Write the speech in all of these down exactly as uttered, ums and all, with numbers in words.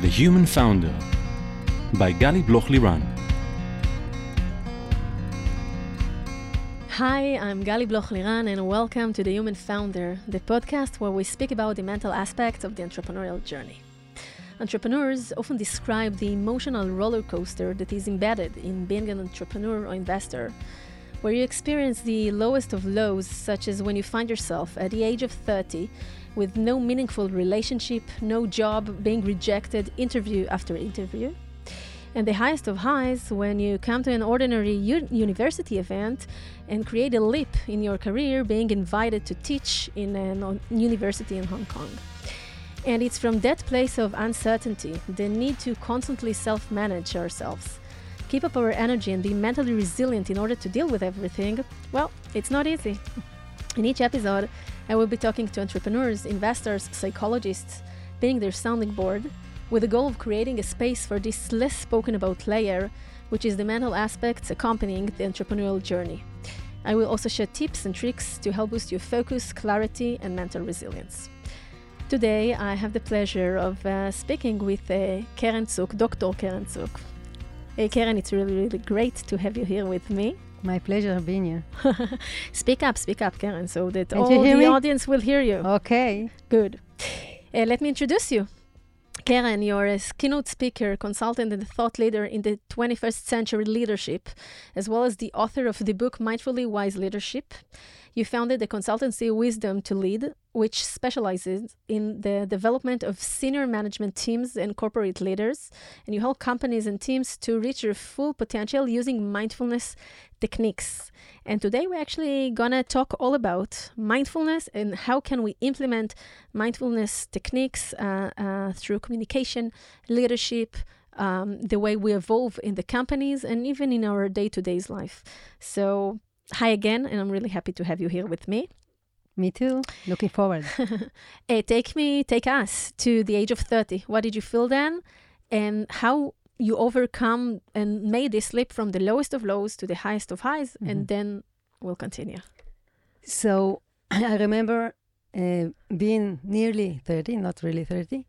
The Human Founder by Gali Bloch-Liran. Hi, I'm Gali Bloch-Liran and welcome to The Human Founder, the podcast where we speak about the mental aspects of the entrepreneurial journey. Entrepreneurs often describe the emotional roller coaster that is embedded in being an entrepreneur or investor, where you experience the lowest of lows, such as when you find yourself at the age of thirty with no meaningful relationship, no job, being rejected interview after interview. And the highest of highs when you come to an ordinary u- university event and create a leap in your career, being invited to teach in a university in Hong Kong. And it's from that place of uncertainty, the need to constantly self-manage ourselves, keep up our energy and be mentally resilient in order to deal with everything, well, it's not easy. In each episode, I will be talking to entrepreneurs, investors, psychologists, being their sounding board, with the goal of creating a space for this less spoken about layer, which is the mental aspects accompanying the entrepreneurial journey. I will also share tips and tricks to help boost your focus, clarity, and mental resilience. Today, I have the pleasure of uh, speaking with uh, Keren Tsuk, Doctor Keren Tsuk. Hey, Keren, it's really, really great to have you here with me. My pleasure being here. Speak up, speak up, Keren, so that Can't all you hear the me? audience will hear you. Okay. Good. Uh, let me introduce you. Keren, you're a keynote speaker, consultant, and thought leader in the twenty-first century leadership, as well as the author of the book Mindfully Wise Leadership. You founded the consultancy Wisdom to Lead, which specializes in the development of senior management teams and corporate leaders, and you help companies and teams to reach their full potential using mindfulness techniques. And today we're actually gonna talk all about mindfulness and how can we implement mindfulness techniques uh, uh, through communication, leadership, um, the way we evolve in the companies, and even in our day-to-day life. So hi again, and I'm really happy to have you here with me. Me too. Looking forward. Hey, take me, take us to the age of thirty. What did you feel then? And how you overcome and made this leap from the lowest of lows to the highest of highs, Mhm. and then we'll continue. So I remember uh, being nearly thirty, not really thirty.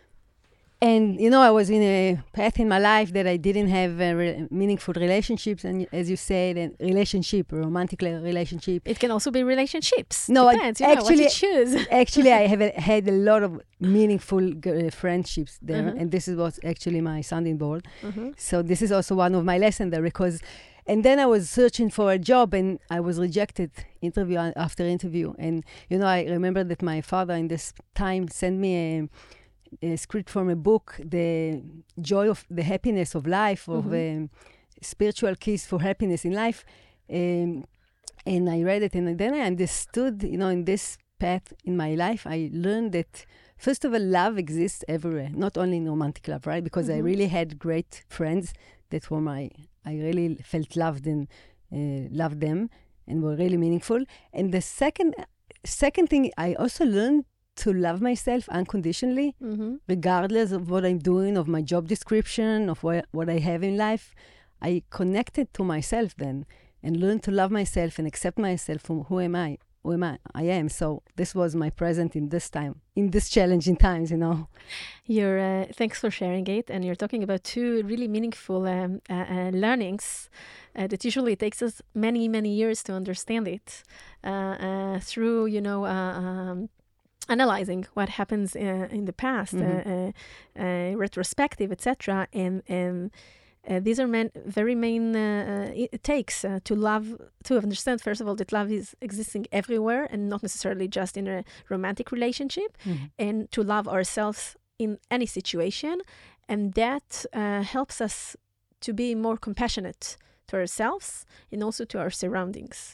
And, you know, I was in a path in my life that I didn't have uh, re- meaningful relationships. And as you said, a relationship, a romantic le- relationship. It can also be relationships. No, I- Depends, you know, what actually- you choose. Actually, I have a, had a lot of meaningful uh, friendships there. Mhm. And this is what's actually my sounding board. Mhm. So this is also one of my lessons there because, and then I was searching for a job and I was rejected interview a- after interview. And, you know, I remember that my father in this time sent me a, a script from a book, The Joy of the Happiness of Life, of um, Spiritual Keys for Happiness in Life. Um, and I read it and then I understood, you know, in this path in my life, I learned that first of all, love exists everywhere, not only in romantic love, right? Because I Mhm. really had great friends that were my, I really felt loved and uh, loved them and were really meaningful. And the second, second thing, I also learned to love myself unconditionally, Mhm. regardless of what I'm doing, of my job description, of what, what I have in life. I connected to myself then and learned to love myself and accept myself from who am I, who am I, I am. So this was my present in this time, in this challenging times, you know. You're, uh, thanks for sharing it. And you're talking about two really meaningful um, uh, uh, learnings uh, that usually takes us many, many years to understand it uh, uh, through, you know, uh, um, analyzing what happens uh, in the past, Mhm. uh, uh, uh, retrospective, et cetera. And and uh, these are man- very main uh, uh, it it takes uh, to love, to understand, first of all, that love is existing everywhere and not necessarily just in a romantic relationship, and to love ourselves in any situation. And that uh, helps us to be more compassionate to ourselves and also to our surroundings.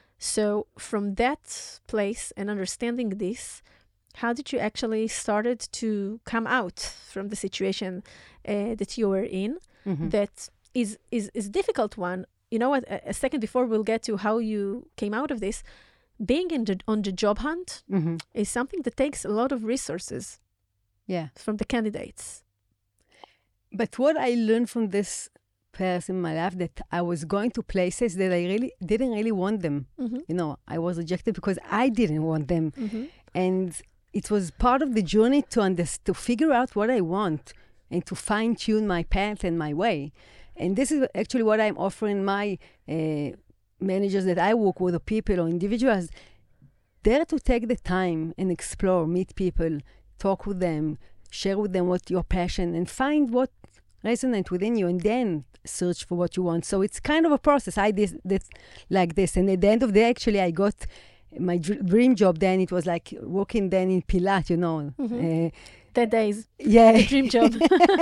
So from that place and understanding this, how did you actually started to come out from the situation uh, that you were in? Mhm. That is, is, is a difficult one. You know what, a, a second before we'll get to how you came out of this, being in the, on the job hunt Mhm. is something that takes a lot of resources Yeah. from the candidates. But what I learned from this path in my life, that I was going to places that I really didn't really want them. Mm-hmm. You know, I was rejected because I didn't want them. Mm-hmm. And it was part of the journey to under- to figure out what I want and to fine tune my path and my way. And this is actually what I'm offering my uh, managers that I work with, or people or individuals. Dare to take the time and explore, meet people, talk with them, share with them what your passion, and find what resonates within you, and then search for what you want. So it's kind of a process. I did this like this, and at the end of the day, actually, I got my dr- dream job. Then it was like working then in Pilat, you know. Mm-hmm. Uh, Ten days. Yeah. The dream job.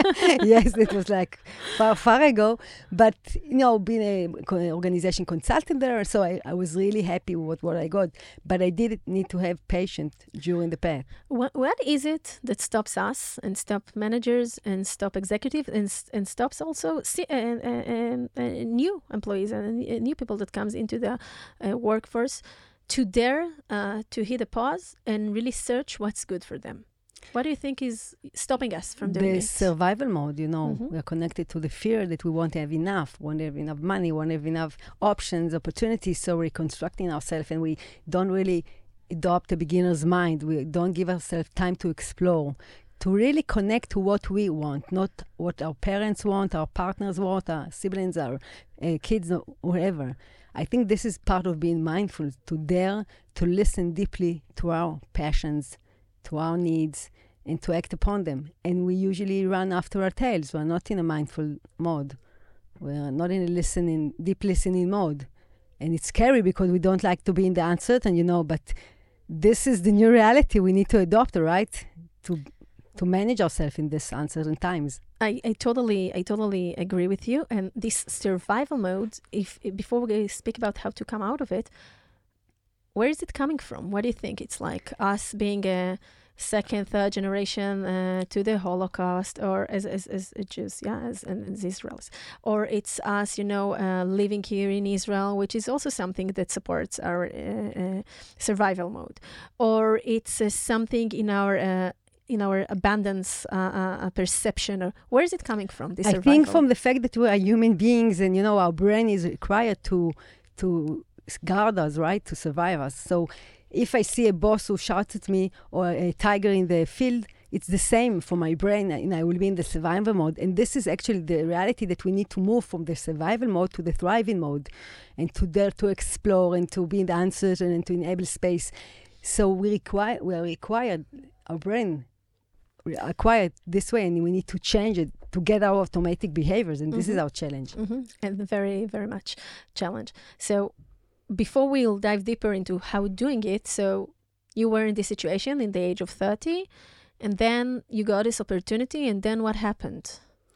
Yes, it was like far, far ago. But, you know, being a co- organization consultant there, so I, I was really happy with what I got. But I did need to have patience during the path. What, what is it that stops us and stop managers and stop executives and, s- and stops also si- uh, uh, uh, uh, new employees and uh, new people that comes into the uh, workforce to dare uh, to hit a pause and really search what's good for them? What do you think is stopping us from doing The it? survival mode, you know, Mhm. we are connected to the fear that we won't have enough, won't have enough money, won't have enough options, opportunities. So we're reconstructing ourselves, and we don't really adopt a beginner's mind. We don't give ourselves time to explore, to really connect to what we want, not what our parents want, our partners want, our siblings, our uh, kids, or whoever. I think this is part of being mindful, to dare to listen deeply to our passions, to our needs, and to act upon them. And we usually run after our tails. We're not in a mindful mode. We're not in a listening, deep listening mode. And it's scary because we don't like to be in the uncertain, you know, but this is the new reality we need to adopt, right? To to manage ourselves in this uncertain times. I, I totally I totally agree with you. And this survival mode, if before we speak about how to come out of it, where is it coming from? What do you think? It's like us being a second, third generation uh, to the Holocaust, or as as, as Jews, yeah, as, as Israelis, or it's us, you know, uh, living here in Israel, which is also something that supports our uh, uh, survival mode, or it's uh, something in our uh, in our abundance uh, uh, perception. Or where is it coming from? This I survival? think from the fact that we are human beings, and you know, our brain is required to to guard us, right, to survive us. So if I see a boss who shouts at me, or a tiger in the field, it's the same for my brain, and I will be in the survival mode. And this is actually the reality, that we need to move from the survival mode to the thriving mode, and to dare to explore, and to be in the uncertain, and to enable space. So we require, we are required, our brain we are acquired this way, and we need to change it to get our automatic behaviors. And mm-hmm. this is our challenge. Mm-hmm. And very, very much challenge. So before we'll dive deeper into how doing it, so you were in this situation in the age of thirty, and then you got this opportunity, and then what happened?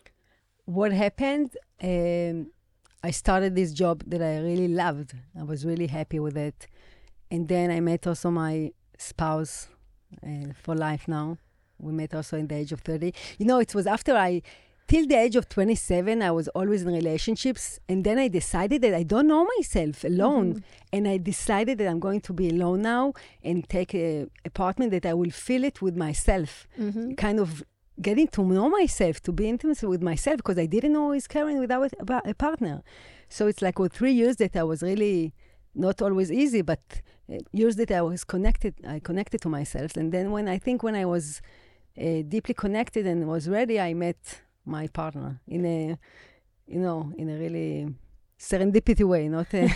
What happened? Um, I started this job that I really loved. I was really happy with it. And then I met also my spouse uh, for life now. We met also in the age of thirty. You know, it was after I... Till the age of twenty-seven, I was always in relationships. And then I decided that I don't know myself alone. Mm-hmm. And I decided that I'm going to be alone now and take an apartment that I will fill it with myself. Mm-hmm. Kind of getting to know myself, to be intimate with myself, because I didn't know I was caring without a, a partner. So it's like well, three years that I was really not always easy, but uh, years that I was connected, I connected to myself. And then when I think when I was uh, deeply connected and was ready, I met my partner in a, you know, in a really serendipity way, not a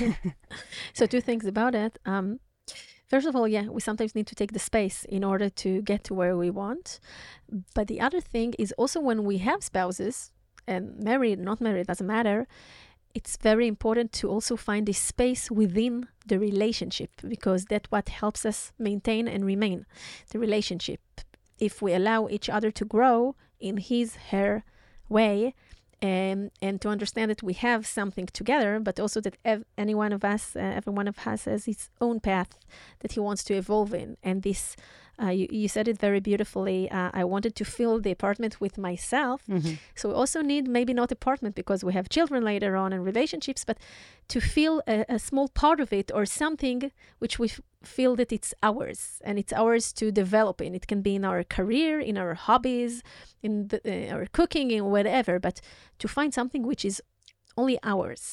So two things about it. Um, first of all, yeah, we sometimes need to take the space in order to get to where we want. But the other thing is also when we have spouses, and married, not married, doesn't matter, it's very important to also find this space within the relationship, because that's what helps us maintain and remain the relationship. If we allow each other to grow in his, her way, um, and to understand that we have something together, but also that ev- any one of us, uh, every one of us has his own path that he wants to evolve in. And this, uh, you, you said it very beautifully. Uh, I wanted to fill the apartment with myself. Mm-hmm. So we also need maybe not apartment because we have children later on and relationships, but to feel a, a small part of it or something which we f- feel that it's ours and it's ours to develop in. It can be in our career, in our hobbies, in the, uh, our cooking, in whatever, but to find something which is only ours.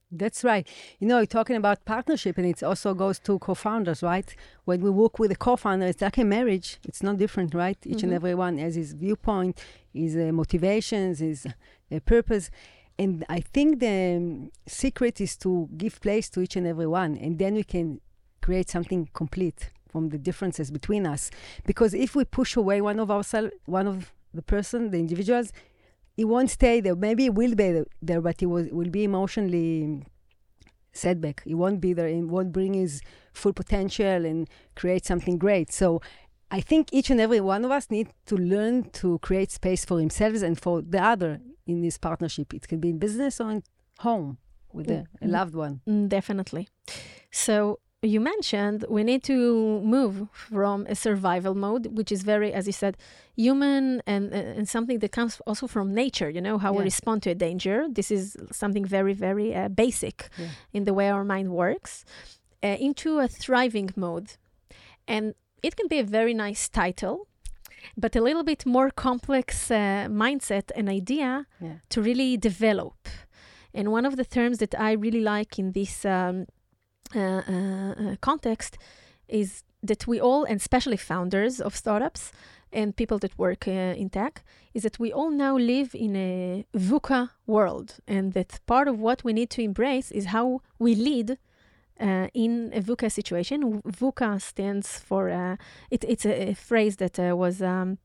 That's right. You know, you're talking about partnership, and it also goes to co-founders, right? When we work with a co-founder, it's like a marriage. It's not different, right? Each Mm-hmm. and every one has his viewpoint, his uh, motivations, his uh, purpose. And I think the um, secret is to give place to each and every one, and then we can create something complete from the differences between us. Because if we push away one of ourselves, one of the person, the individuals, he won't stay there. Maybe he will be there, but he was, will be emotionally setback. He won't be there and won't bring his full potential and create something great. So I think each and every one of us need to learn to create space for themselves and for the other in this partnership. It can be in business or in home with a, a loved one. Mm, definitely. So you mentioned we need to move from a survival mode, which is very, as you said, human and, and something that comes also from nature, you know, how Yeah. we respond to a danger. This is something very, very uh, basic Yeah. in the way our mind works, uh, into a thriving mode. And it can be a very nice title, but a little bit more complex uh, mindset and idea Yeah. to really develop. And one of the terms that I really like in this um, uh, uh, uh, context is that we all, and especially founders of startups and people that work uh, in tech, is that we all now live in a VUCA world. And that part of what we need to embrace is how we lead uh, in a VUCA situation. VUCA stands for, uh, it, it's a, a phrase that uh, was um,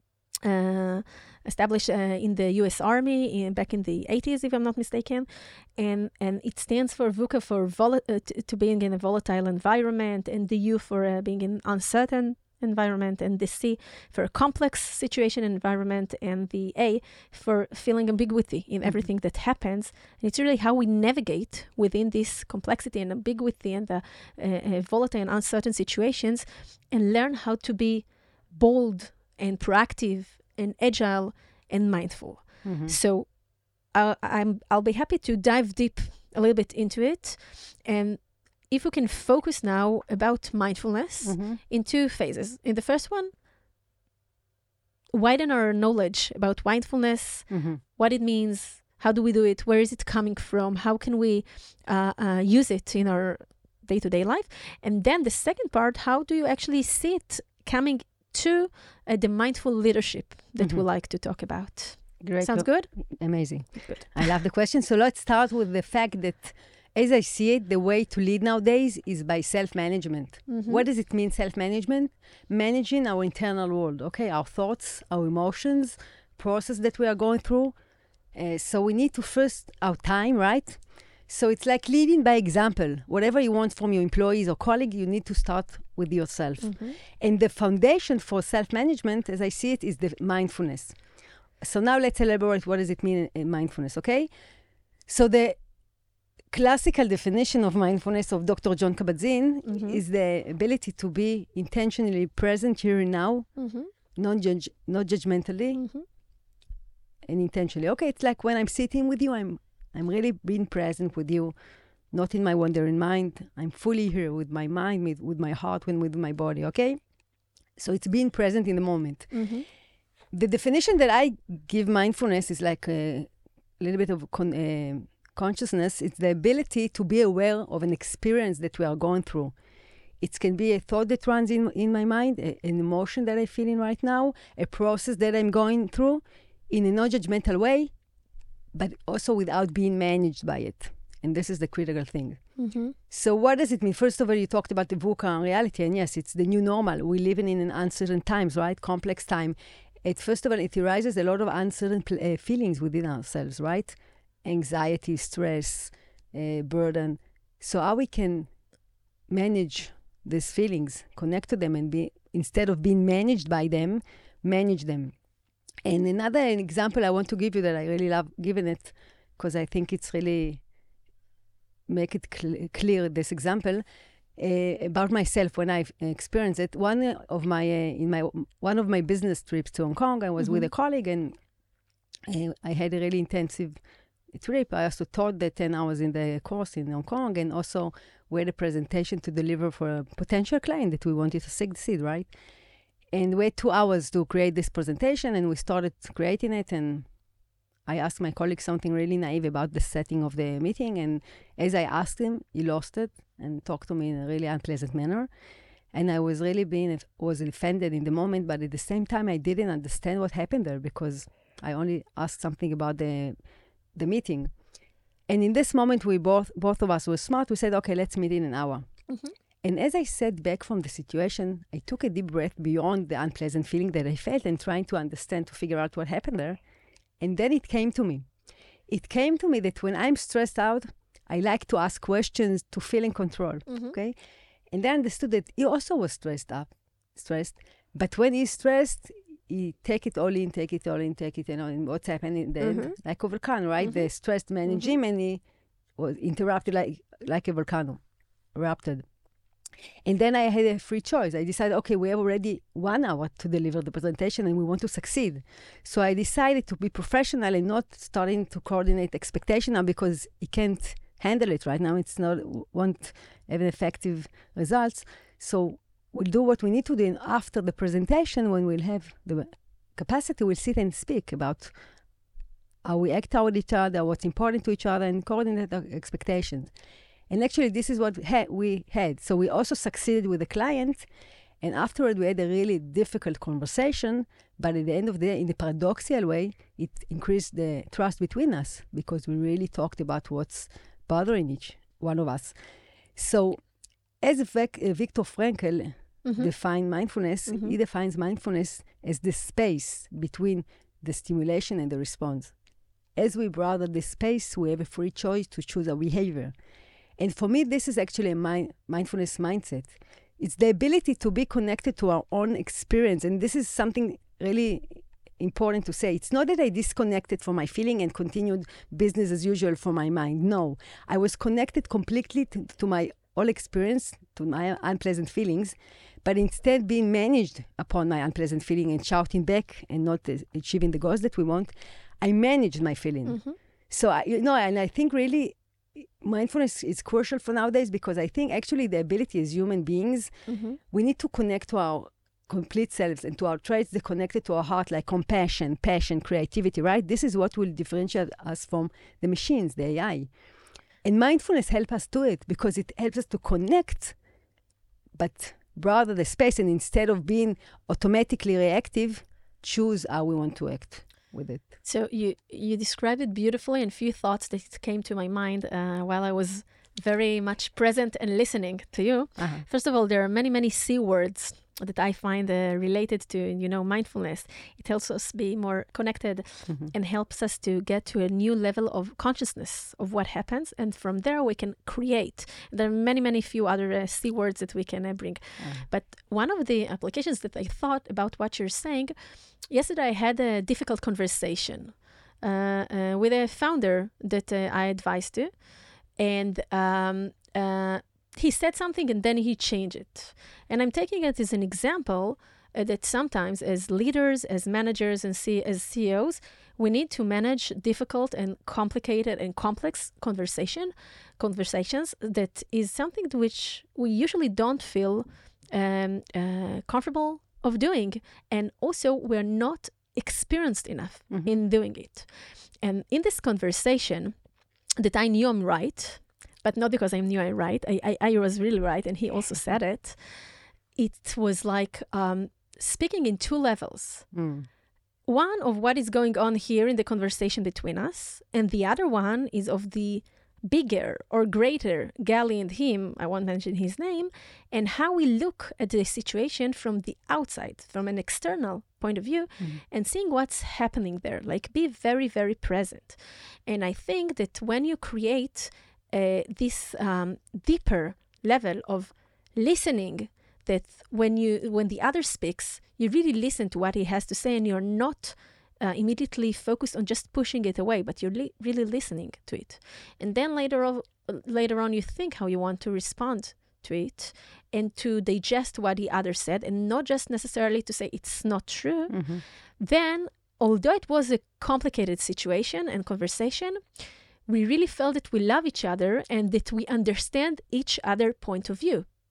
uh, established uh, in the U S Army in, back in the eighties, if I'm not mistaken. And and it stands for VUCA for vol- uh, t- to being in a volatile environment, and the U for uh, being in uncertain environment, and the C for a complex situation environment, and the A for feeling ambiguity in Mhm. everything that happens. And it's really how we navigate within this complexity and ambiguity and the uh, uh, volatile and uncertain situations, and learn how to be bold and proactive and agile and mindful. Mhm. So uh, I'm, I'll be happy to dive deep a little bit into it. And if we can focus now about mindfulness Mhm. in two phases. In the first one, widen our knowledge about mindfulness, Mhm. what it means, how do we do it, where is it coming from, how can we uh, uh, use it in our day-to-day life. And then the second part, how do you actually see it coming to uh, the mindful leadership that we Mhm. like to talk about. Great. Sounds Lo- good? Amazing. Good. I love the question. So let's start with the fact that, as I see it, the way to lead nowadays is by self-management. Mhm. What does it mean, self-management? Managing our internal world, okay? Our thoughts, our emotions, process that we are going through. Uh, so we need to first, our time, right? So it's like leading by example. Whatever you want from your employees or colleagues, you need to start with yourself. Mhm. And the foundation for self-management, as I see it, is the mindfulness. So now let's elaborate what does it mean in mindfulness, okay? So the classical definition of mindfulness of Doctor John Kabat-Zinn Mhm. is the ability to be intentionally present here and now, Mhm. non-judge, not judgmentally, Mhm. and intentionally. Okay, it's like when I'm sitting with you, I'm I'm really being present with you, not in my wandering mind. I'm fully here with my mind, with, with my heart, and with my body, okay? So it's being present in the moment. Mhm. The definition that I give mindfulness is like a little bit of con- uh, consciousness. It's the ability to be aware of an experience that we are going through. It can be a thought that runs in, in my mind, a, an emotion that I'm feeling right now, a process that I'm going through in a non-judgmental way, but also without being managed by it. And this is the critical thing. Mhm. So what does it mean? First of all, you talked about the VUCA and reality, and yes, it's the new normal. We live in an uncertain times, right? Complex time. It, first of all, it arises a lot of uncertain pl- uh, feelings within ourselves, right? Anxiety, stress, uh, burden. So how we can manage these feelings, connect to them, and be, instead of being managed by them, manage them. And another example I want to give you that I really love giving it, because I think it's really make it cl- clear, this example, uh, about myself when I've experienced it. One of my, uh, in my, one of my business trips to Hong Kong, I was with Mhm. a colleague, and uh, I had a really intensive trip. I also taught the ten hours in the course in Hong Kong, and also we had a presentation to deliver for a potential client that we wanted to succeed, right? And we had two hours to create this presentation, and we started creating it, and I asked my colleague something really naive about the setting of the meeting. And as I asked him, he lost it and talked to me in a really unpleasant manner. And I was really being, was offended in the moment, but at the same time, I didn't understand what happened there because I only asked something about the the meeting. And in this moment, we both, both of us were smart. We said, okay, let's meet in an hour. Mm-hmm. And as I sat back from the situation, I took a deep breath beyond the unpleasant feeling that I felt and trying to understand, to figure out what happened there. And then it came to me. It came to me that when I'm stressed out, I like to ask questions to feel in control, mm-hmm. okay? And then I understood that he also was stressed up, stressed. But when he's stressed, he take it all in, take it all in, take it, you know, and what's happening then, mm-hmm. like a volcano, right? Mm-hmm. The stressed man in mm-hmm. gym, and he was interrupted like, like a volcano, erupted. And then I had a free choice. I decided, okay, we have already one hour to deliver the presentation and we want to succeed. So I decided to be professional and not starting to coordinate expectation now because he can't handle it right now. It's not, won't have an effective results. So we'll do what we need to do. And after the presentation, when we'll have the capacity, we'll sit and speak about how we act toward each other, what's important to each other, and coordinate our expectations. And actually, this is what ha- we had. So we also succeeded with the client. And afterward, we had a really difficult conversation. But at the end of the day, in the paradoxical way, it increased the trust between us because we really talked about what's bothering each one of us. So as Vic- uh, Viktor Frankl mm-hmm. defined mindfulness, mm-hmm. he defines mindfulness as the space between the stimulation and the response. As we brother the space, we have a free choice to choose our behavior. And for me, this is actually a mind- mindfulness mindset. It's the ability to be connected to our own experience. And this is something really important to say. It's not that I disconnected from my feeling and continued business as usual for my mind. No, I was connected completely to, to my whole experience, to my unpleasant feelings, but instead being managed upon my unpleasant feeling and shouting back and not uh, achieving the goals that we want, I managed my feeling. Mm-hmm. So, I, you know, and I think really, mindfulness is crucial for nowadays because I think actually the ability as human beings, mm-hmm. we need to connect to our complete selves and to our traits that connected to our heart, like compassion, passion, creativity, right? This is what will differentiate us from the machines, the A I. And mindfulness helps us do it because it helps us to connect, but rather the space, and instead of being automatically reactive, choose how we want to act with it. So you you described it beautifully, and few thoughts that came to my mind uh, while I was very much present and listening to you. Uh-huh. First of all, there are many, many C words that I find uh, related to, you know, mindfulness. It helps us be more connected mm-hmm. and helps us to get to a new level of consciousness of what happens. And from there, we can create. There are many, many few other uh, C words that we can uh, bring. Uh-huh. But one of the applications that I thought about what you're saying, yesterday I had a difficult conversation uh, uh, with a founder that uh, I advised to. And um, uh, he said something and then he changed it. And I'm taking it as an example uh, that sometimes as leaders, as managers, and C- as C E Os, we need to manage difficult and complicated and complex conversation conversations that is something to which we usually don't feel um, uh, comfortable of doing. And also we're not experienced enough mm-hmm. in doing it. And in this conversation, that I knew I'm right, but not because I knew I'm right. I, I, I was really right, and he also said it. It was like um, speaking in two levels. Mm. One of what is going on here in the conversation between us, and the other one is of the bigger or greater Gali and him, I won't mention his name, and how we look at the situation from the outside, from an external point of view, mm-hmm. and seeing what's happening there. Like, be very, very present. And I think that when you create uh, this um, deeper level of listening, that when you when the other speaks, you really listen to what he has to say, and you're not Uh, immediately focused on just pushing it away, but you're li- really listening to it. And then later on, later on, you think how you want to respond to it and to digest what the other said, and not just necessarily to say it's not true. Mm-hmm. Then, although it was a complicated situation and conversation, we really felt that we love each other and that we understand each other's point of view.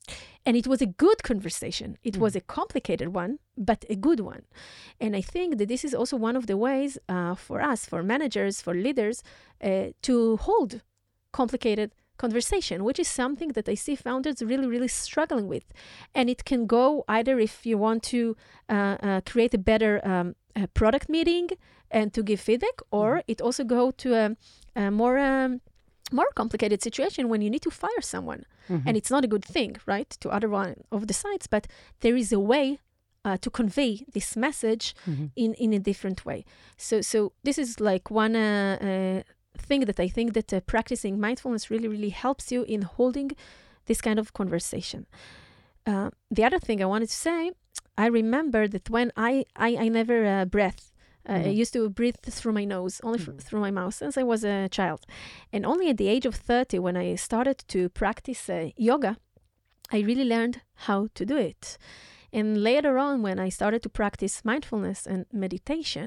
And it was a good conversation. It mm. was a complicated one, but a good one. And I think that this is also one of the ways uh, for us, for managers, for leaders, uh, to hold complicated conversation, which is something that I see founders really, really struggling with. And it can go either if you want to uh, uh, create a better um, a product meeting and to give feedback, or mm. it also go to a, a more... Um, more complicated situation when you need to fire someone. Mm-hmm. And it's not a good thing, right, to other one of the sites, but there is a way uh, to convey this message mm-hmm. in, in a different way. So so this is like one uh, uh, thing that I think that uh, practicing mindfulness really, really helps you in holding this kind of conversation. Uh, the other thing I wanted to say, I remember that when I, I, I never uh, breathed, Uh, mm-hmm. I used to breathe through my nose, only mm-hmm. f- through my mouth, since I was a child. And only at the age of thirty, when I started to practice uh, yoga, I really learned how to do it. And later on, when I started to practice mindfulness and meditation,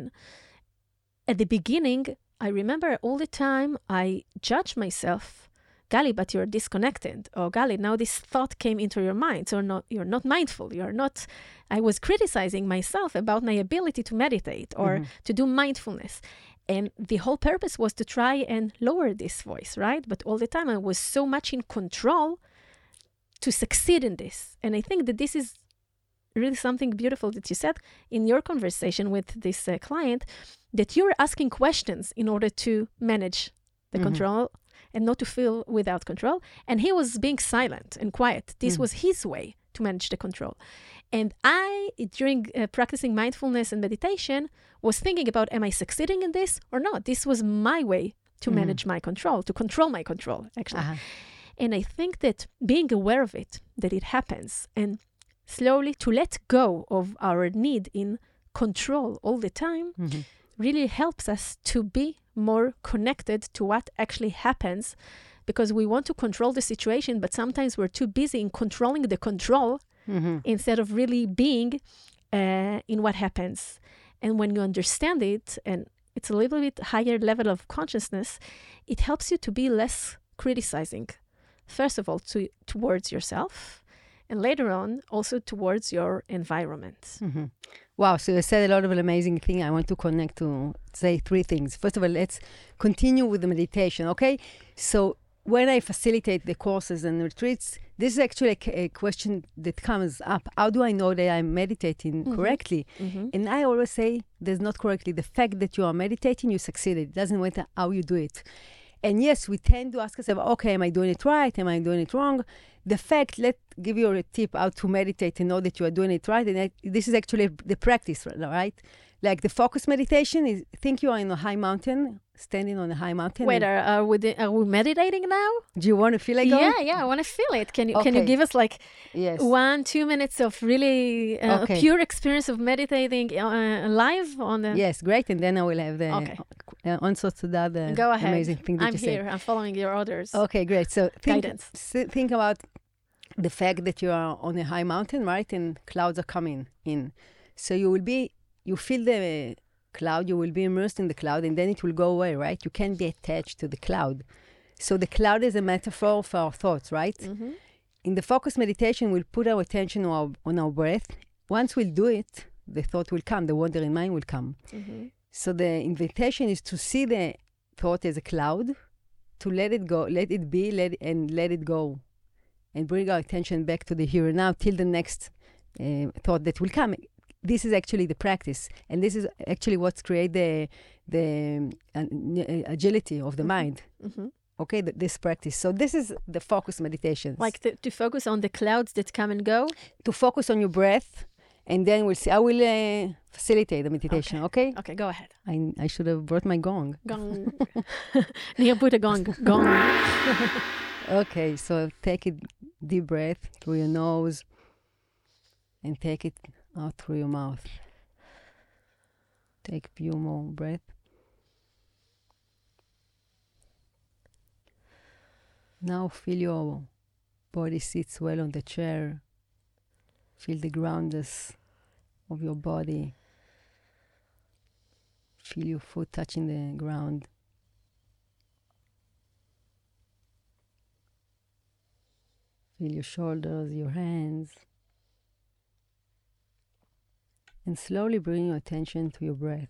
at the beginning, I remember all the time I judged myself. Gali, but you're disconnected. Or Gali, now this thought came into your mind. So not, you're not mindful. You're not... I was criticizing myself about my ability to meditate or mm-hmm. to do mindfulness. And the whole purpose was to try and lower this voice, right? But all the time I was so much in control to succeed in this. And I think that this is really something beautiful that you said in your conversation with this uh, client, that you're asking questions in order to manage the mm-hmm. control and not to feel without control. And he was being silent and quiet. This mm. was his way to manage the control. And I, during uh, practicing mindfulness and meditation, was thinking about, am I succeeding in this or not? This was my way to mm. manage my control, to control my control, actually. Uh-huh. And I think that being aware of it, that it happens, and slowly to let go of our need in control all the time, mm-hmm. really helps us to be more connected to what actually happens, because we want to control the situation, but sometimes we're too busy in controlling the control mm-hmm. instead of really being uh, in what happens. And when you understand it, and it's a little bit higher level of consciousness, it helps you to be less criticizing. First of all, to, towards yourself, and later on, also towards your environment. Mm-hmm. Wow, so you said a lot of amazing things. I want to connect to say three things. First of all, let's continue with the meditation, okay? So when I facilitate the courses and retreats, this is actually a, a question that comes up. How do I know that I'm meditating mm-hmm. correctly? Mm-hmm. And I always say, there's not correctly. The fact that you are meditating, you succeeded. It doesn't matter how you do it. And yes, we tend to ask ourselves, okay, am I doing it right? Am I doing it wrong? The fact, let's give you a tip how to meditate and know that you are doing it right. And I, this is actually the practice, right? Like the focus meditation is, think you are in a high mountain, standing on a high mountain. Wait, are, are, we, de- are we meditating now? Do you want to feel like Yeah, going? yeah, I want to feel it. Can you okay. can you give us like yes. one, two minutes of really uh, okay. pure experience of meditating uh, live on the... Yes, great. And then I will have the okay. uh, answer to that uh, Go ahead. amazing thing that I'm you here. said. I'm following your orders. Okay, great. So think, Guidance. s- think about the fact that you are on a high mountain, right? And clouds are coming in. So you will be, you feel the cloud, you will be immersed in the cloud, and then it will go away, right? You can't be attached to the cloud. So the cloud is a metaphor for our thoughts, right? Mm-hmm. In the focus meditation, we'll put our attention on our, on our breath. Once we'll do it, the thought will come, the wandering mind will come. Mm-hmm. So the invitation is to see the thought as a cloud, to let it go, let it be, let it, and let it go. And bring our attention back to the here and now till the next uh, thought that will come. This is actually the practice. And this is actually what's create the, the uh, agility of the mm-hmm. mind. Mm-hmm. Okay, th- this practice. So this is the focus meditations. Like to, to focus on the clouds that come and go? To focus on your breath. And then we'll see. I will uh, facilitate the meditation, okay? Okay, okay, go ahead. I, I should have brought my gong. Gong. Nia, put a gong. Gong. Okay, so take a deep breath through your nose and take it out through your mouth. Take a few more breaths. Now feel your body sits well on the chair. Feel the groundness of your body. Feel your foot touching the ground. Feel your shoulders, your hands. And slowly bring your attention to your breath.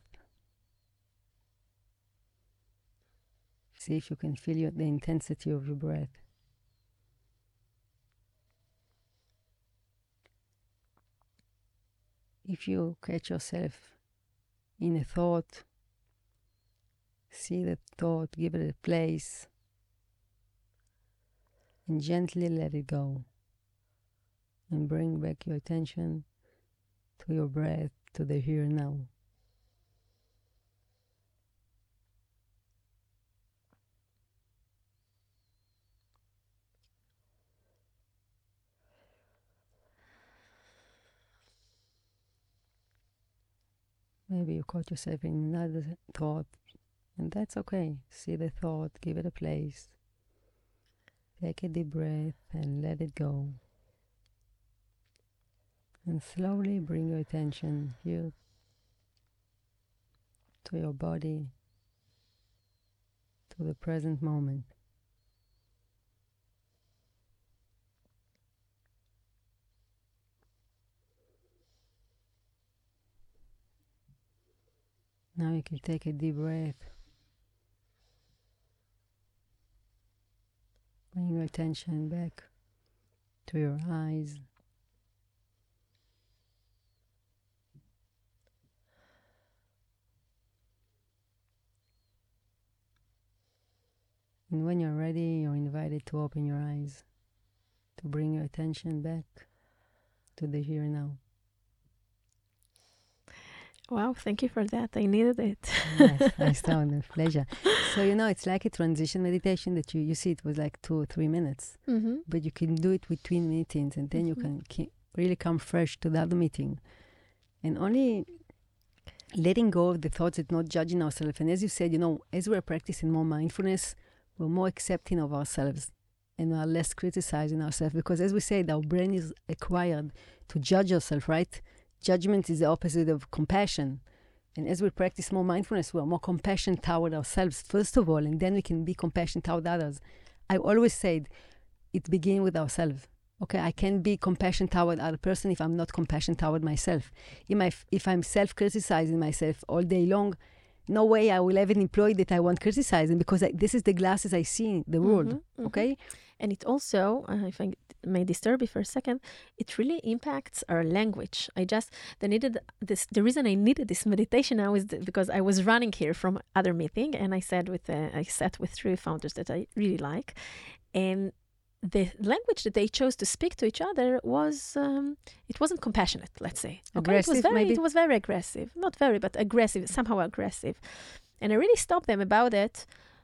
See if you can feel your, the intensity of your breath. If you catch yourself in a thought, see the thought, give it a place, and gently let it go. And bring back your attention to your breath, to the here and now. Maybe you caught yourself in another thought, and that's okay. See the thought, give it a place. Take a deep breath and let it go. And slowly bring your attention here to your body, to the present moment. Now you can take a deep breath. Bring your attention back to your eyes. And when you're ready, you're invited to open your eyes, to bring your attention back to the here and now. Wow, thank you for that. I needed it. Yes, I saw it. Pleasure. So, you know, it's like a transition meditation that you, you see it was like two or three minutes. Mm-hmm. But you can do it between meetings, and then mm-hmm. you can ke- really come fresh to the other meeting. And only letting go of the thoughts and not judging ourselves. And as you said, you know, as we're practicing more mindfulness, we're more accepting of ourselves and we're less criticizing ourselves. Because as we said, our brain is acquired to judge ourselves, right? Judgment is the opposite of compassion. And as we practice more mindfulness, we're more compassionate toward ourselves, first of all, and then we can be compassionate toward others. I always said, it begins with ourselves. Okay, I can't be compassionate toward other person if I'm not compassionate toward myself. If, I, if I'm self-criticizing myself all day long, no way I will have an employee that I want criticizing, because I, this is the glasses I see in the world, mm-hmm, mm-hmm. okay? And it also, uh, if I may disturb you for a second, it really impacts our language. I just, the needed this, the reason I needed this meditation now is because I was running here from other meeting, and I said with, uh, I sat with three founders that I really like, and the language that they chose to speak to each other was, um, it wasn't compassionate, let's say. Okay? Aggressive, it was very, maybe? It was very aggressive. Not very, but aggressive, somehow aggressive. And I really stopped them about it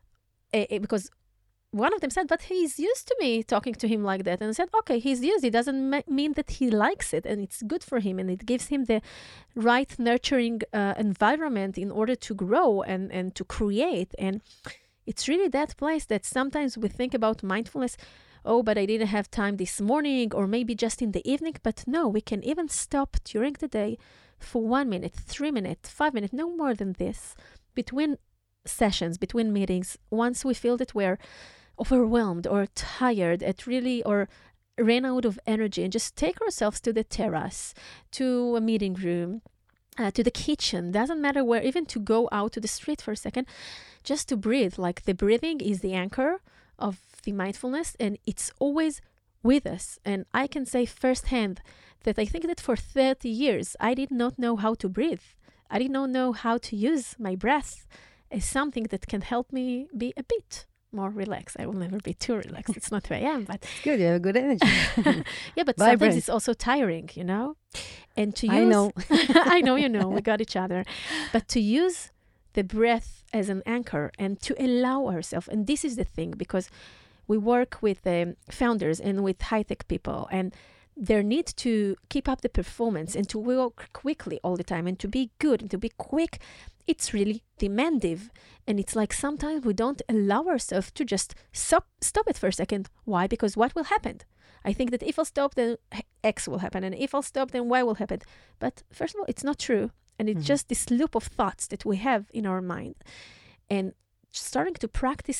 uh, because one of them said, but he's used to me talking to him like that. And I said, okay, he's used. It doesn't ma- mean that he likes it, and it's good for him, and it gives him the right nurturing uh, environment in order to grow and, and to create. And it's really that place that sometimes we think about mindfulness, oh, but I didn't have time this morning, or maybe just in the evening. But no, we can even stop during the day for one minute, three minutes, five minutes, no more than this, between sessions, between meetings, once we feel that we're overwhelmed or tired at really, or ran out of energy, and just take ourselves to the terrace, to a meeting room, uh, to the kitchen, doesn't matter where, even to go out to the street for a second, just to breathe. Like the breathing is the anchor of the mindfulness, and it's always with us. And I can say firsthand that I think that for thirty years, I did not know how to breathe. I did not know how to use my breath as something that can help me be a bit more relaxed. I will never be too relaxed. It's not who I am, but it's good. You have good energy. Yeah, but Vibrant. Sometimes it's also tiring, you know. And to use, I know, I know, you know, we got each other. But to use the breath as an anchor and to allow ourselves, and this is the thing, because we work with um, founders and with high-tech people, and their need to keep up the performance and to work quickly all the time and to be good and to be quick, it's really demanding. And it's like sometimes we don't allow ourselves to just stop, stop it for a second. Why? Because what will happen? I think that if I'll stop, then X will happen. And if I'll stop, then Y will happen. But first of all, it's not true. And it's mm-hmm. just this loop of thoughts that we have in our mind. And starting to practice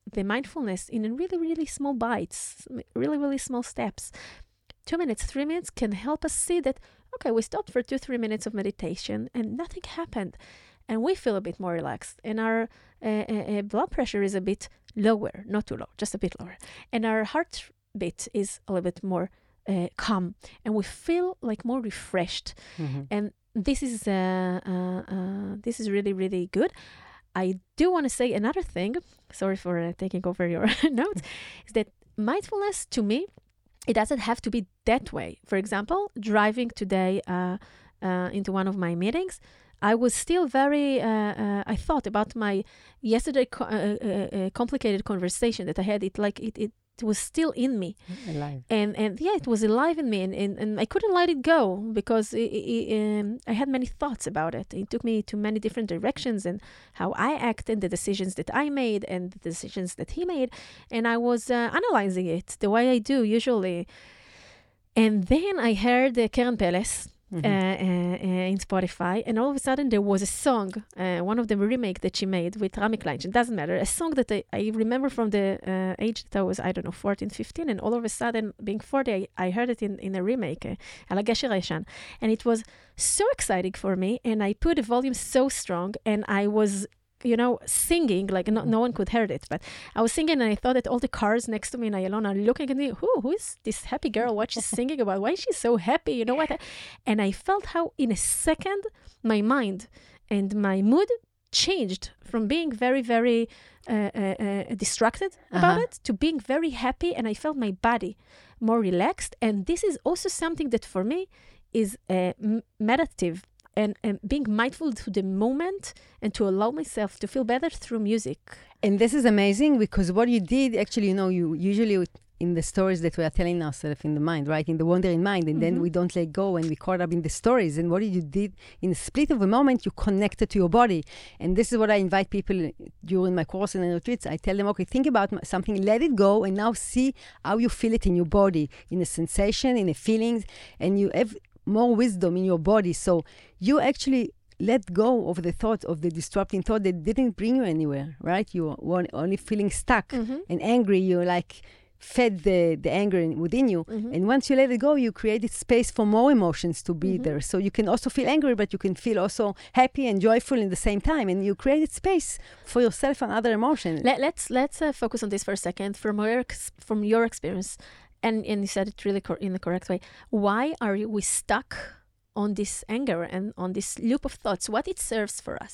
the mindfulness in really, really small bites, really, really small steps. Two minutes, three minutes can help us see that, okay, we stopped for two, three minutes of meditation and nothing happened. And we feel a bit more relaxed. And our uh, uh, blood pressure is a bit lower, not too low, just a bit lower. And our heartbeat is a little bit more uh, calm. And we feel like more refreshed. Mm-hmm. And this is uh, uh, uh, this is really, really good. I do want to say another thing. Sorry for uh, taking over your notes. Is that mindfulness, to me, it doesn't have to be that way. For example, driving today uh, uh, into one of my meetings, I was still very, uh, uh, I thought about my yesterday co- uh, uh, uh, complicated conversation that I had. It like it, it was still in me. Alive. And and yeah, it was alive in me. And, and, and I couldn't let it go because it, it, um, I had many thoughts about it. It took me to many different directions and how I acted, the decisions that I made and the decisions that he made. And I was uh, analyzing it the way I do usually. And then I heard uh, Keren Peles. Mm-hmm. Uh, uh, uh, in Spotify, and all of a sudden there was a song, uh, one of the remake that she made with Rami Kleinstein. It doesn't matter, a song that I, I remember from the uh, age that I was, I don't know, fourteen, fifteen, and all of a sudden, being forty, I, I heard it in, in a remake, uh, Al Gesher Hayeshan, and it was so exciting for me, and I put the volume so strong, and I was you know, singing, like no, no one could hear it, but I was singing and I thought that all the cars next to me in Ayalon are looking at me, who, who is this happy girl? What she's singing about? Why is she so happy? You know what? And I felt how in a second, my mind and my mood changed from being very, very uh, uh, uh, distracted uh-huh. about it to being very happy. And I felt my body more relaxed. And this is also something that for me is uh, m- meditative. And, and being mindful to the moment and to allow myself to feel better through music. And this is amazing because what you did, actually, you know, you usually in the stories that we are telling ourselves in the mind, right? In the wandering mind. And mm-hmm. then we don't let go and we caught up in the stories. And what you did in a split of a moment, you connected to your body. And this is what I invite people during my course and retreats. I tell them, okay, think about something, let it go, and now see how you feel it in your body, in a sensation, in the feelings. And you have more wisdom in your body. So you actually let go of the thought of the disrupting thought that didn't bring you anywhere, right? You were only feeling stuck mm-hmm. and angry. You like fed the, the anger in, within you. Mm-hmm. And once you let it go, you created space for more emotions to be mm-hmm. there. So you can also feel angry, but you can feel also happy and joyful in the same time. And you created space for yourself and other emotions. Let, let's let's uh, focus on this for a second. From your, from your experience, And, and you said it really cor- in the correct way. Why are we stuck on this anger and on this loop of thoughts? What it serves for us?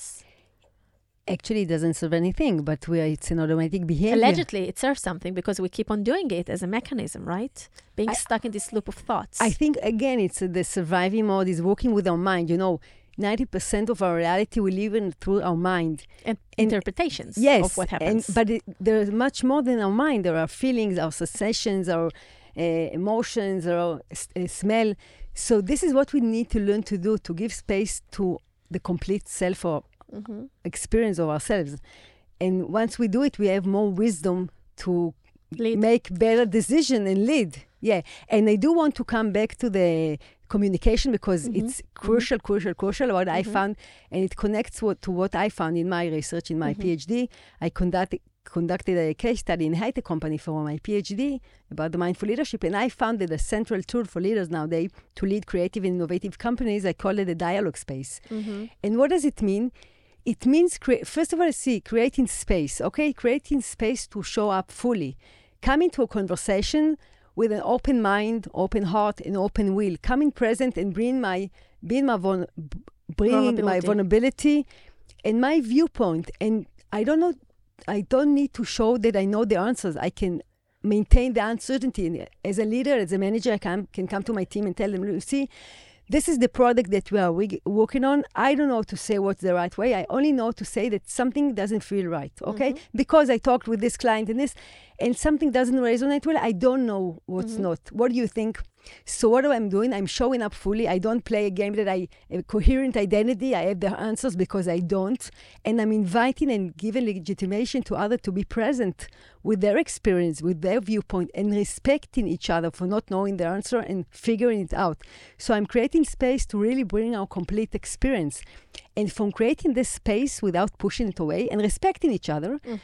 Actually, it doesn't serve anything, but we are, it's an automatic behavior. Allegedly, it serves something because we keep on doing it as a mechanism, right? Being I, stuck in this loop of thoughts. I think, again, it's uh, the surviving mode is working with our mind. You know, ninety percent of our reality we live in through our mind. And, and interpretations yes, of what happens. And, but it, there's much more than our mind. There are feelings, our sensations, our uh, emotions, our uh, smell. So this is what we need to learn to do, to give space to the complete self or mm-hmm. experience of ourselves. And once we do it, we have more wisdom to lead. Make better decision and lead. Yeah. And I do want to come back to the communication because mm-hmm. it's crucial, mm-hmm. crucial, crucial what mm-hmm. I found. And it connects what, to what I found in my research, in my mm-hmm. PhD. I conducted, conducted a case study in a high-tech company for my PhD about the mindful leadership. And I found that a central tool for leaders nowadays to lead creative and innovative companies, I call it a dialogue space. Mm-hmm. And what does it mean? It means, cre- first of all, see, creating space, okay? Creating space to show up fully. Come into a conversation with an open mind, open heart, and open will. Coming present and bring my, being my vul- bringing my vulnerability and my viewpoint. And I don't know, I don't need to show that I know the answers. I can maintain the uncertainty. And as a leader, as a manager, I can, can come to my team and tell them, you see, this is the product that we are we- working on. I don't know to say what's the right way. I only know to say that something doesn't feel right, okay? Mm-hmm. Because I talked with this client and this, and something doesn't resonate well, I don't know what's mm-hmm. not. What do you think? So what am I doing? I'm showing up fully. I don't play a game that I have a coherent identity. I have the answers because I don't. And I'm inviting and giving legitimation to others to be present with their experience, with their viewpoint, and respecting each other for not knowing the answer and figuring it out. So I'm creating space to really bring our complete experience. And from creating this space without pushing it away and respecting each other, mm-hmm.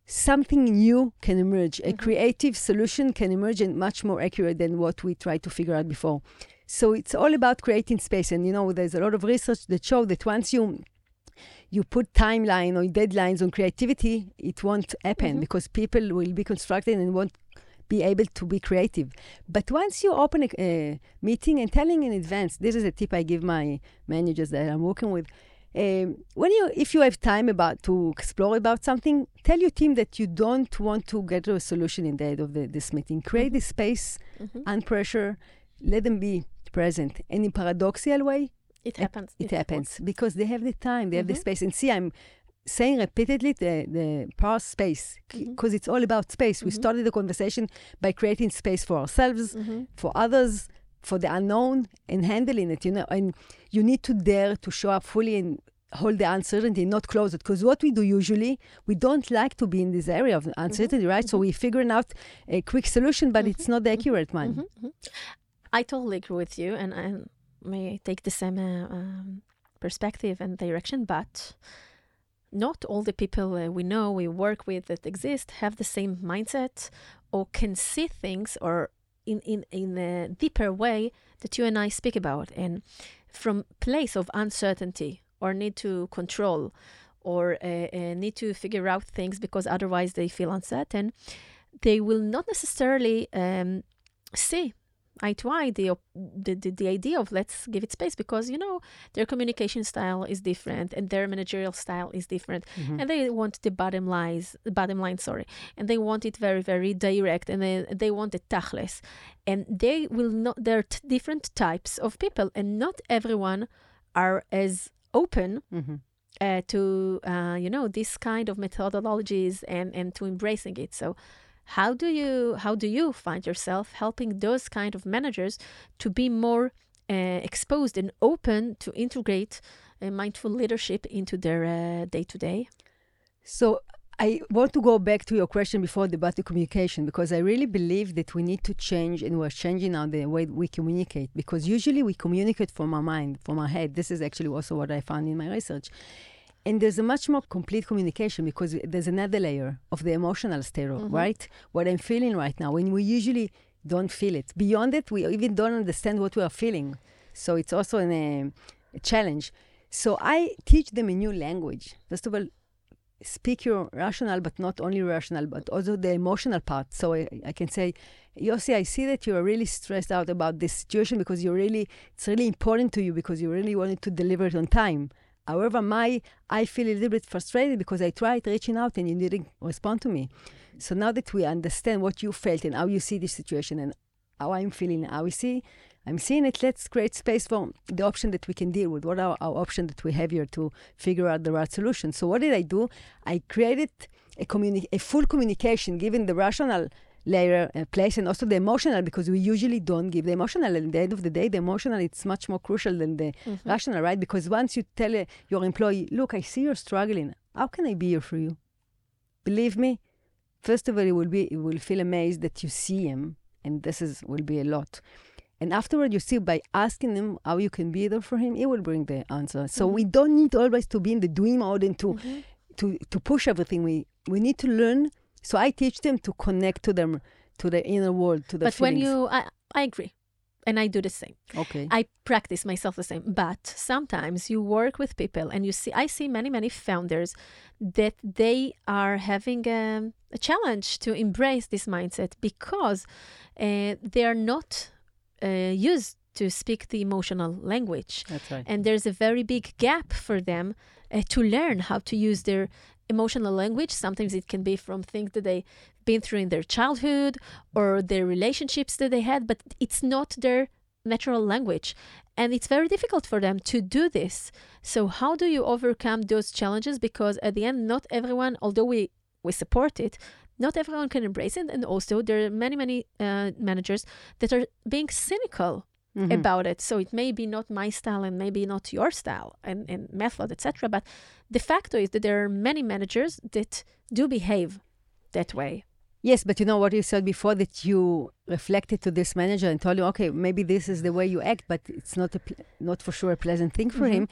something new can emerge. A Mhm. creative solution can emerge and much more accurate than what we tried to figure out before. So it's all about creating space. And, you know, there's a lot of research that show that once you you put timeline or deadlines on creativity, it won't happen Mhm. because people will be constructed and won't be able to be creative. But once you open a, a meeting and telling in advance, this is a tip I give my managers that I'm working with. Um, when you, if you have time about to explore about something, tell your team that you don't want to get to a solution in the end of the, this meeting. Create Mhm. the space Mhm. and pressure. Let them be present. And in paradoxical way, It happens. it happens because they have the time, they have the Mhm. space. And see, I'm saying repeatedly the, the power of space Mhm. because it's all about space. We Mhm. started the conversation by creating space for ourselves, Mhm. for others, for the unknown, and handling it, you know. And you need to dare to show up fully and hold the uncertainty, not close it. Because what we do usually, we don't like to be in this area of uncertainty, right? So Mhm. we figuring out a quick solution, but Mhm. it's not the accurate one. Mhm. Mhm. I totally agree with you, and I may take the same uh, um, perspective and direction, but not all the people uh, we know, we work with that exist have the same mindset or can see things or in, in, in a deeper way that you and I speak about. And from place of uncertainty or need to control or uh, uh, need to figure out things because otherwise they feel uncertain, they will not necessarily um, see eye to eye the, op- the, the the idea of let's give it space because, you know, their communication style is different and their managerial style is different. Mhm. And they want the bottom lines, bottom line, sorry. And they want it very, very direct and they, they want it tachlis. And they will not, there are t- different types of people and not everyone are as open Mhm. uh, to, uh, you know, this kind of methodologies and, and to embracing it. So how do you how do you find yourself helping those kind of managers to be more uh, exposed and open to integrate uh, mindful leadership into their uh, day-to-day? So I want to go back to your question before about the communication, because I really believe that we need to change, and we're changing now the way we communicate, because usually we communicate from our mind, from our head. This is actually also what I found in my research. And there's a much more complete communication because there's another layer of the emotional state, Mhm. right? What I'm feeling right now, when we usually don't feel it. Beyond it, we even don't understand what we are feeling. So it's also an, a, a challenge. So I teach them a new language. First of all, speak your rational, but not only rational, but also the emotional part. So I, I can say, Yossi, I see that you are really stressed out about this situation because you're really, it's really important to you because you really wanted to deliver it on time. However, my, I feel a little bit frustrated because I tried reaching out and you didn't respond to me. So now that we understand what you felt and how you see this situation and how I'm feeling, how we see, I'm seeing it, let's create space for the option that we can deal with. What are our options that we have here to figure out the right solution? So what did I do? I created a, communi- a full communication, given the rational layer uh, place and also the emotional, because we usually don't give the emotional. And at the end of the day, the emotional, it's much more crucial than the Mhm. rational, right? Because once you tell uh, your employee, look, I see you're struggling. How can I be here for you? Believe me, first of all, it will be, it will feel amazed that you see him. And this is will be a lot. And afterward, you see, by asking him how you can be there for him, he will bring the answer. So Mhm. we don't need always to be in the doing mode and to, Mhm. to, to push everything. We, we need to learn. So I teach them to connect to them, to the inner world, to the But when feelings. you, I, I agree. And I do the same. Okay. I practice myself the same. But sometimes you work with people and you see, I see many, many founders that they are having um, a challenge to embrace this mindset because uh, they are not uh, used to speak the emotional language. That's right. And there's a very big gap for them uh, to learn how to use their emotional language. Sometimes it can be from things that they've been through in their childhood or their relationships that they had, but it's not their natural language. And it's very difficult for them to do this. So how do you overcome those challenges? Because at the end, not everyone, although we, we support it, not everyone can embrace it. And also there are many, many uh, managers that are being cynical Mhm. about it. So it may be not my style and maybe not your style and, and method, et cetera. But the fact is that there are many managers that do behave that way. Yes, but you know what you said before, that you reflected to this manager and told him, okay, maybe this is the way you act, but it's not a pl- not for sure a pleasant thing for Mhm. him.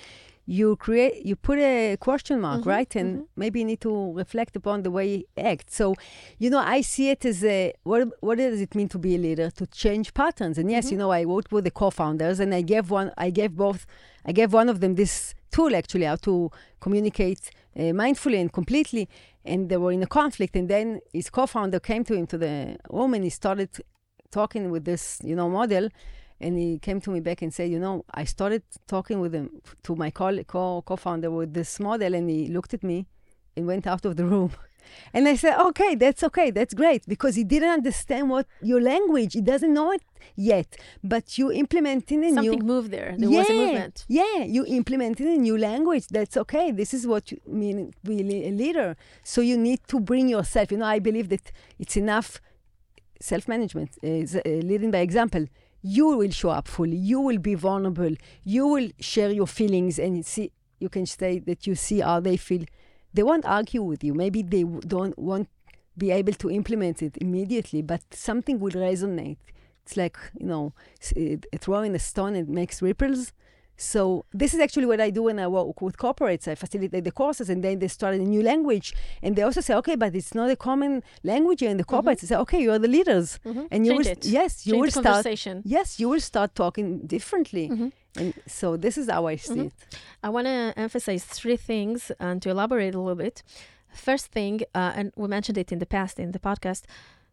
you create, you put a question mark, Mm-hmm, right? And mm-hmm. maybe you need to reflect upon the way you act. So, you know, I see it as a, what, what does it mean to be a leader? To change patterns. And yes, Mm-hmm. you know, I worked with the co-founders and I gave one, I gave both, I gave one of them this tool actually, how to communicate uh, mindfully and completely. And they were in a conflict. And then his co-founder came to him, to the room, and he started talking with this, you know, model. And he came to me back and said, you know, I started talking with him, to my co- co- co-founder with this model, and he looked at me and went out of the room. And I said, okay, that's okay, that's great, because he didn't understand what your language, he doesn't know it yet, but you implementing a new... Something moved there. There yeah, was a movement. Yeah, you implementing a new language, that's okay. This is what you mean to be a leader. So you need to bring yourself, you know, I believe that it's enough self-management, uh, uh, leading by example. You will show up fully. You will be vulnerable. You will share your feelings, and see. You can say that you see how they feel. They won't argue with you. Maybe they w- don't won't be able to implement it immediately, but something will resonate. It's like, you know, s- uh, throwing a stone, it makes ripples. So this is actually what I do when I work with corporates. I facilitate the courses, and then they start a new language. And they also say, okay, but it's not a common language here in the corporates. Mm-hmm. They say, okay, you are the leaders. Mm-hmm. And you Change will, it. yes, you Change will the start, conversation. yes, you will start talking differently. Mm-hmm. And so this is how I see Mhm. it. I want to emphasize three things and to elaborate a little bit. First thing, uh, and we mentioned it in the past in the podcast,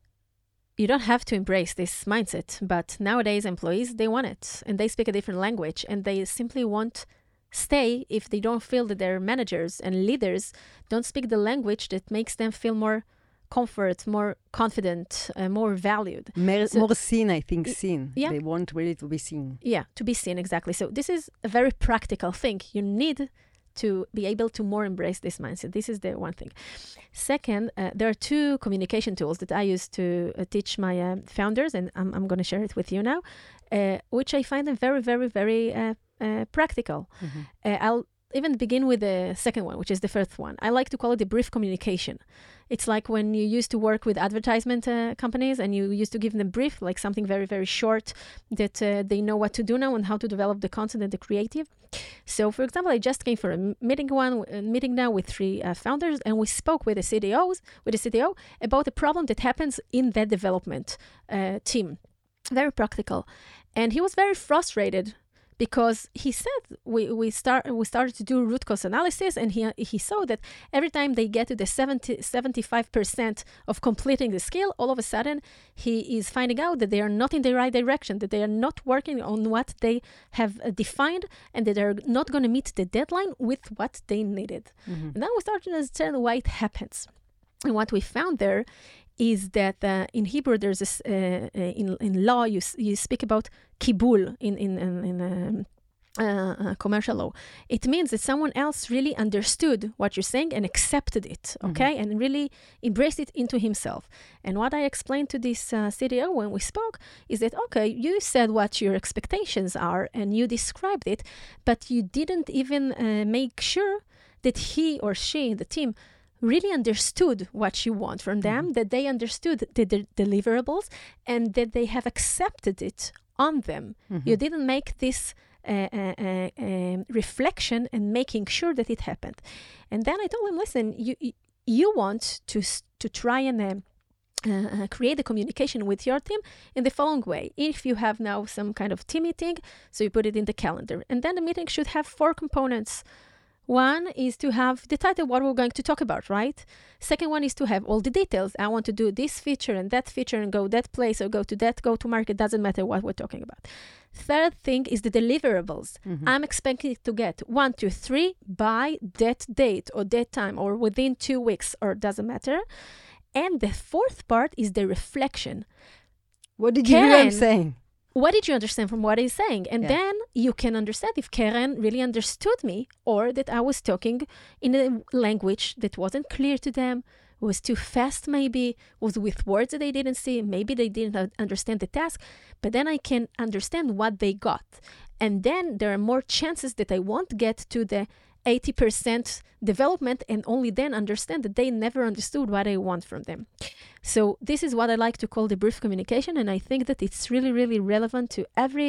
you don't have to embrace this mindset, but nowadays employees, they want it, and they speak a different language, and they simply won't stay if they don't feel that their managers and leaders don't speak the language that makes them feel more comfort, more confident, uh, more valued. More, So- more seen, I think, seen. yeah. They want really to be seen. Yeah, to be seen, exactly. So this is a very practical thing. You need to be able to more embrace this mindset. This is the one thing. Second, uh, there are two communication tools that I use to uh, teach my uh, founders, and I'm, I'm going to share it with you now, uh, which I find them very, very, very uh, uh, practical. Mm-hmm. Uh, I'll even begin with the second one, which is the first one. I like to call it the brief communication. It's like when you used to work with advertisement uh, companies and you used to give them brief, like something very, very short that uh, they know what to do now and how to develop the content and the creative. So, for example, I just came for a m- meeting one a meeting now with three uh, founders, and we spoke with the C D Os, with the C D O, about a problem that happens in that development uh, team. Very practical, and he was very frustrated because he said we we start we started to do root cause analysis, and he he saw that every time they get to the seventy, seventy-five percent of completing the skill, all of a sudden he is finding out that they are not in the right direction, that they are not working on what they have uh, defined, and that they're not going to meet the deadline with what they needed. Mm-hmm. And then we started to understand why it happens. And what we found there is that uh, in Hebrew, there's this, uh, uh, in, in law, you, s- you speak about kibul in, in, in, in um, uh, uh, commercial law. It means that someone else really understood what you're saying and accepted it, okay? And really embraced it into himself. And what I explained to this uh, C D O when we spoke is that, okay, you said what your expectations are and you described it, but you didn't even uh, make sure that he or she, the team, really understood what you want from them, Mhm. that they understood the, the deliverables, and that they have accepted it on them. Mhm. You didn't make this uh, uh, uh, um, reflection and making sure that it happened. And then I told him, listen, you you, you want to s- to try and um, uh, uh, create a communication with your team in the following way. If you have now some kind of team meeting, so you put it in the calendar, and then the meeting should have four components. One is to have the title, what we're going to talk about, right? Second one is to have all the details. I want to do this feature and that feature and go that place or go to that go-to-market. Doesn't matter what we're talking about. Third thing is the deliverables. Mhm. I'm expecting to get one, two, three by that date or that time or within two weeks or doesn't matter. And the fourth part is the reflection. What did you hear him Karen, saying? What did you understand from what he's saying? And Yeah. then you can understand if Karen really understood me or that I was talking in a language that wasn't clear to them, was too fast maybe, was with words that they didn't see, maybe they didn't uh, understand the task, but then I can understand what they got. And then there are more chances that I won't get to the eighty percent development and only then understand that they never understood what I want from them. So this is what I like to call the brief communication, and I think that it's really, really relevant to every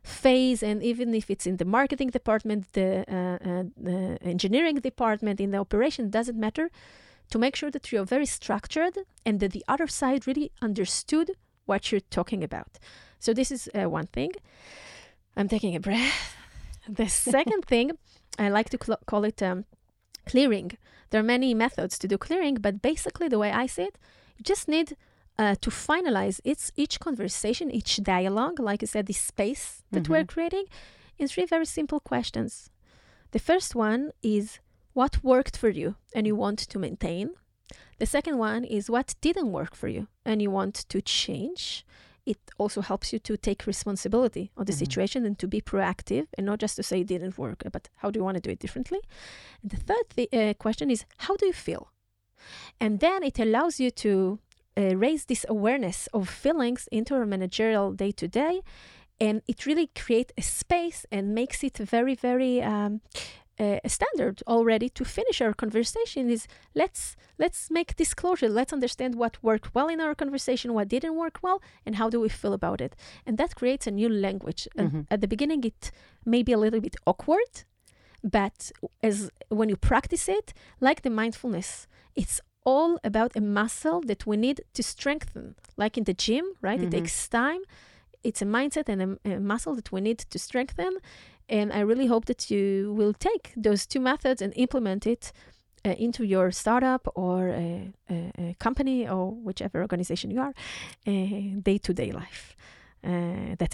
phase, and even if it's in the marketing department, the, uh, uh, the engineering department, in the operation, doesn't matter, to make sure that you're very structured and that the other side really understood what you're talking about. So this is uh, one thing. I'm taking a breath. The second thing, I like to cl- call it um, clearing. There are many methods to do clearing, but basically the way I see it, you just need uh, to finalize its, each conversation, each dialogue, like I said, this space that Mhm. we're creating, in three very simple questions. The first one is, what worked for you and you want to maintain? The second one is, what didn't work for you and you want to change? It also helps you to take responsibility of the Mhm. situation and to be proactive and not just to say it didn't work, but how do you want to do it differently? And the third th- uh, question is, how do you feel? And then it allows you to uh, raise this awareness of feelings into our managerial day to day. And it really creates a space and makes it very, very um, uh, a standard already to finish our conversation is let's let's make disclosure. Let's understand what worked well in our conversation, what didn't work well, and how do we feel about it. And that creates a new language. And Mhm. at the beginning, it may be a little bit awkward, but as when you practice it, like the mindfulness, it's all about a muscle that we need to strengthen. Like in the gym, right? Mhm. It takes time. It's a mindset and a, a muscle that we need to strengthen. And I really hope that you will take those two methods and implement it uh, into your startup or a, a, a company or whichever organization you are, uh, day-to-day life. Uh, that's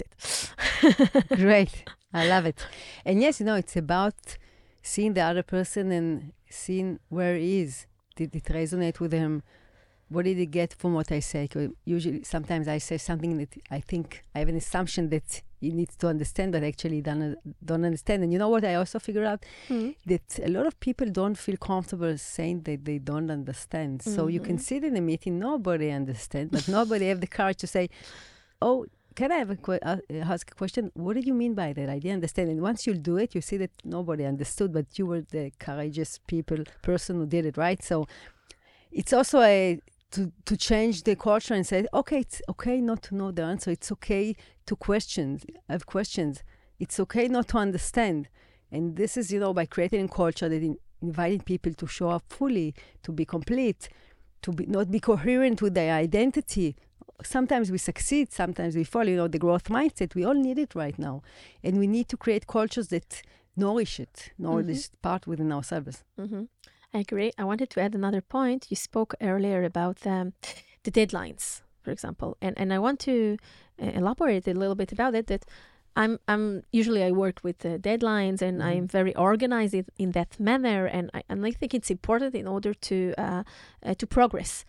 it. Great. I love it. And yes, you know, it's about seeing the other person and seeing where he is. Did it resonate with him? What did he get from what I say? 'Cause usually, sometimes I say something that I think I have an assumption that he needs to understand, but actually don't, don't understand. And you know what I also figured out? Mhm. That a lot of people don't feel comfortable saying that they don't understand. So you can Mhm. sit in a meeting, nobody understands, but nobody have the courage to say, oh, can I have a que- uh, ask a question? What did you mean by that? I didn't understand. And once you do it, you see that nobody understood, but you were the courageous people, person who did it, right? So it's also a to, to change the culture and say, okay, it's okay not to know the answer. It's okay to question, have questions. It's okay not to understand. And this is, you know, by creating a culture that in, inviting people to show up fully, to be complete, to be not be coherent with their identity. Sometimes we succeed, sometimes we fall. You know, the growth mindset, we all need it right now. And we need to create cultures that nourish it, nourish Mhm. this part within ourselves. Mm-hmm. I agree. I wanted to add another point. You spoke earlier about um, the deadlines, for example, and and I want to uh, elaborate a little bit about it. That I'm I'm usually I work with uh, deadlines, and Mhm. I'm very organized in, in that manner, and I and I think it's important in order to uh, uh, to progress.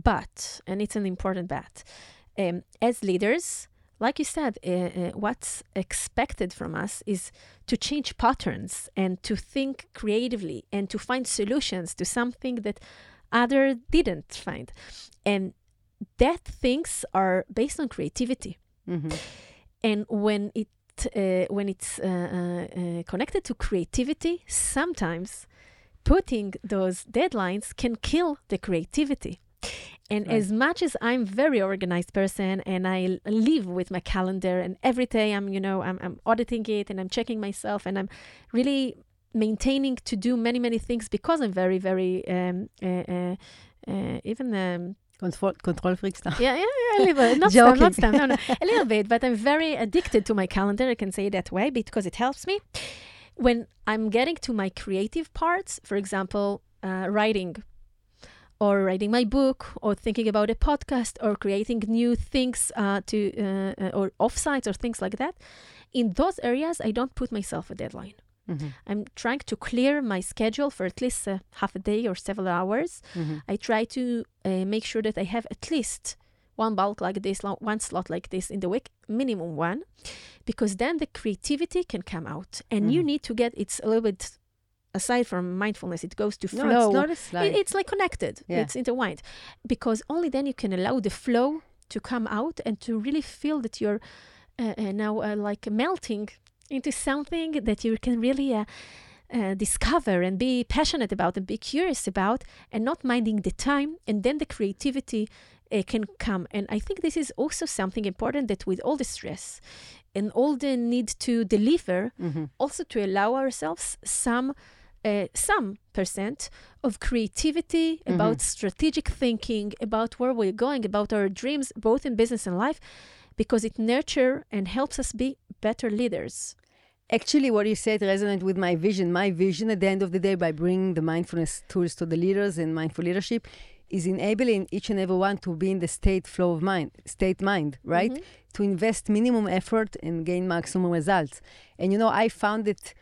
But and it's an important but, um, as leaders. Like you said, uh, uh, what's expected from us is to change patterns and to think creatively and to find solutions to something that other didn't find. And that things are based on creativity. Mhm. And when it uh, when it's uh, uh, uh, connected to creativity, sometimes putting those deadlines can kill the creativity. And Right. as much as I'm very organized person and I l- live with my calendar and every day I'm, you know, I'm, I'm auditing it and I'm checking myself and I'm really maintaining to do many, many things because I'm very, very, um, uh, uh, uh, even, um, Control, control freak stuff. yeah, yeah, yeah, a little bit. Not stem, not Joking. stem, no, no, a little bit, but I'm very addicted to my calendar. I can say it that way because it helps me. When I'm getting to my creative parts, for example, uh, writing, or writing my book, or thinking about a podcast, or creating new things uh, to uh, uh, or offsites or things like that. In those areas, I don't put myself a deadline. Mhm. I'm trying to clear my schedule for at least uh, half a day or several hours. Mhm. I try to uh, make sure that I have at least one bulk like this, lo- one slot like this in the week, minimum one, because then the creativity can come out. And you Mhm. need to get, it's a little bit, aside from mindfulness, it goes to No, flow. it's not a It, slide. it's like connected. Yeah. It's intertwined. Because only then you can allow the flow to come out and to really feel that you're uh, uh, now uh, like melting into something that you can really uh, uh, discover and be passionate about and be curious about and not minding the time. And then the creativity uh, can come. And I think this is also something important that with all the stress, and all the need to deliver, Mm-hmm. also to allow ourselves some uh, some percent of creativity, Mhm. about strategic thinking, about where we're going, about our dreams, both in business and life, because it nurtures and helps us be better leaders. Actually, what you said resonates with my vision. My vision at the end of the day, by bringing the mindfulness tools to the leaders and mindful leadership, is enabling each and every one to be in the state flow of mind, state mind, right? Mhm. To invest minimum effort and gain maximum results. And you know, I found that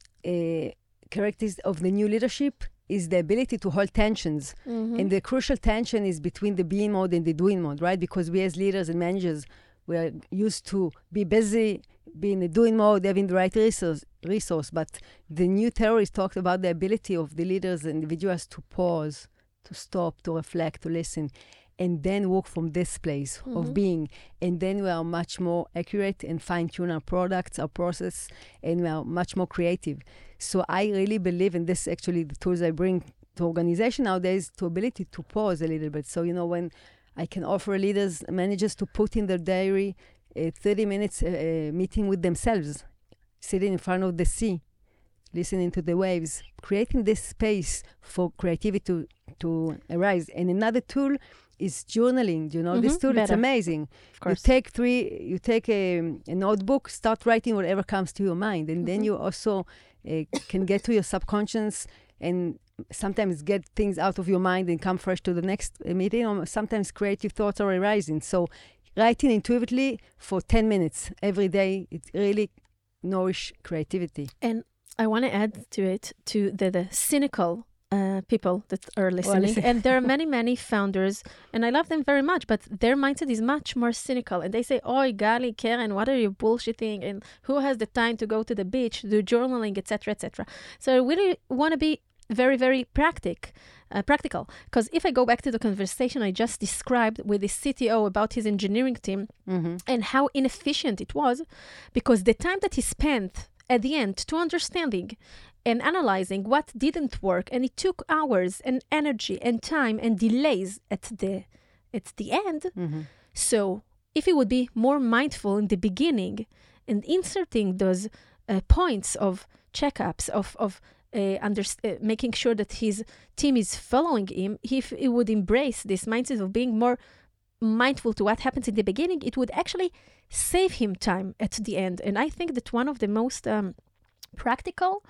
uh, characteristics of the new leadership is the ability to hold tensions. Mhm. And the crucial tension is between the being mode and the doing mode, right? Because we as leaders and managers, we are used to be busy, be in the doing mode, having the right resource, resource. But the new theories talked about the ability of the leaders and individuals to pause, to stop, to reflect, to listen, and then work from this place Mhm. of being. And then we are much more accurate and fine-tune our products, our process, and we are much more creative. So I really believe in this, actually, the tools I bring to organization nowadays, to ability to pause a little bit. So, you know, when I can offer leaders, managers to put in their diary a thirty minutes uh, uh, meeting with themselves, sitting in front of the sea, listening to the waves, creating this space for creativity to, to arise. And another tool is journaling. Do you know this Mhm, tool? It's better. amazing. Of You course. take three, you take a, a notebook, start writing whatever comes to your mind. And then Mhm. you also uh, can get to your subconscious and sometimes get things out of your mind and come fresh to the next uh, meeting. Or sometimes creative thoughts are arising. So writing intuitively for ten minutes every day, it really nourish creativity. And I want to add to it to the, the cynical uh, people that are listening. listen. And there are many, many founders, and I love them very much, but their mindset is much more cynical. And they say, "Oi, Gali, Karen, what are you bullshitting? And who has the time to go to the beach, do journaling, et cetera, et cetera" So I really want to be very, very practic, uh, practical. Because if I go back to the conversation I just described with the C T O about his engineering team Mm-hmm. and how inefficient it was, because the time that he spent at the end to understanding and analyzing what didn't work, and it took hours and energy and time and delays at the at the end. Mm-hmm. So if he would be more mindful in the beginning and inserting those uh, points of checkups of of uh, under, uh, making sure that his team is following him, if he would embrace this mindset of being more mindful to what happens in the beginning, it would actually save him time at the end. And I think that one of the most um, practical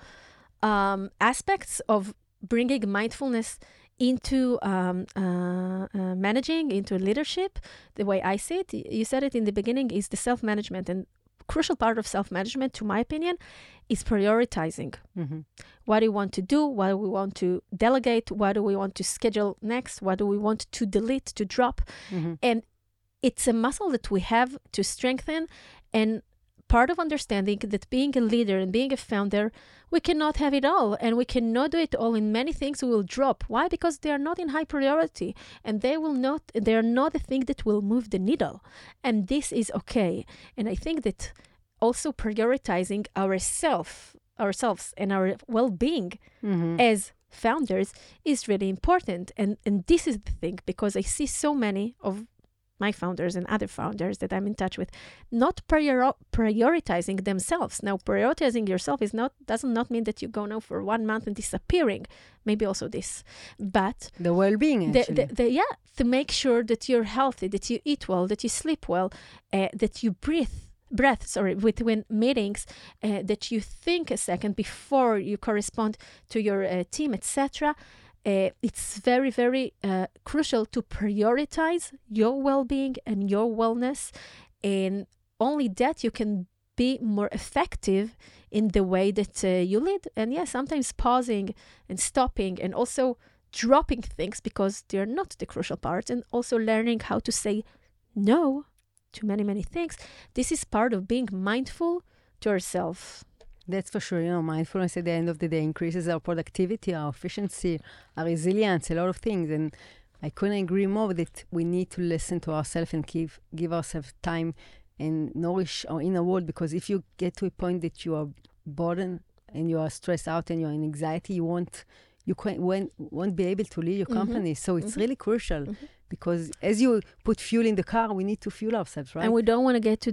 um, aspects of bringing mindfulness into um, uh, uh, managing, into leadership, the way I see it, you said it in the beginning, is the self-management. And crucial part of self-management, to my opinion, is prioritizing. Mm-hmm. What do we want to do? What do we want to delegate? What do we want to schedule next? What do we want to delete, to drop? Mm-hmm. And it's a muscle that we have to strengthen. And part of understanding that being a leader and being a founder, we cannot have it all. And we cannot do it all. In many things we will drop. Why? Because they are not in high priority. And they will not, they are not the thing that will move the needle. And this is okay. And I think that also prioritizing ourself, ourselves and our well-being Mm-hmm. as founders is really important. And and this is the thing, because I see so many of my founders and other founders that I'm in touch with not prior- prioritizing themselves. Now, prioritizing yourself is not doesn't not mean that you go now for one month and disappearing. Maybe also this, but The well-being, the, actually. the, the, yeah, to make sure that you're healthy, that you eat well, that you sleep well, uh, that you breathe. breath, sorry, between meetings, uh, that you think a second before you correspond to your uh, team, et cetera. Uh, it's very, very uh, crucial to prioritize your well-being and your wellness, and only that you can be more effective in the way that uh, you lead. And yeah, sometimes pausing and stopping and also dropping things because they're not the crucial parts, and also learning how to say no to many, many things. This is part of being mindful to ourselves. That's for sure. You know, mindfulness at the end of the day increases our productivity, our efficiency, our resilience, a lot of things. And I couldn't agree more that we need to listen to ourselves and give, give ourselves time and nourish our inner world. Because if you get to a point that you are burdened and you are stressed out and you're in anxiety, you won't, you can't, won't, won't be able to lead your Mhm. company. So it's Mhm. really crucial. Mhm. Because as you put fuel in the car, we need to fuel ourselves, right? And we don't want to get to the